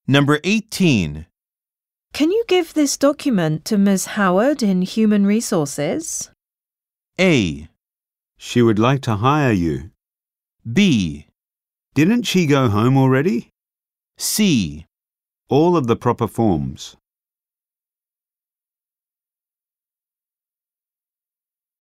Number 18. Can you give this document to Ms. Howard in Human Resources? A. She would like to hire you. B. Didn't she go home already? C. All of the proper forms.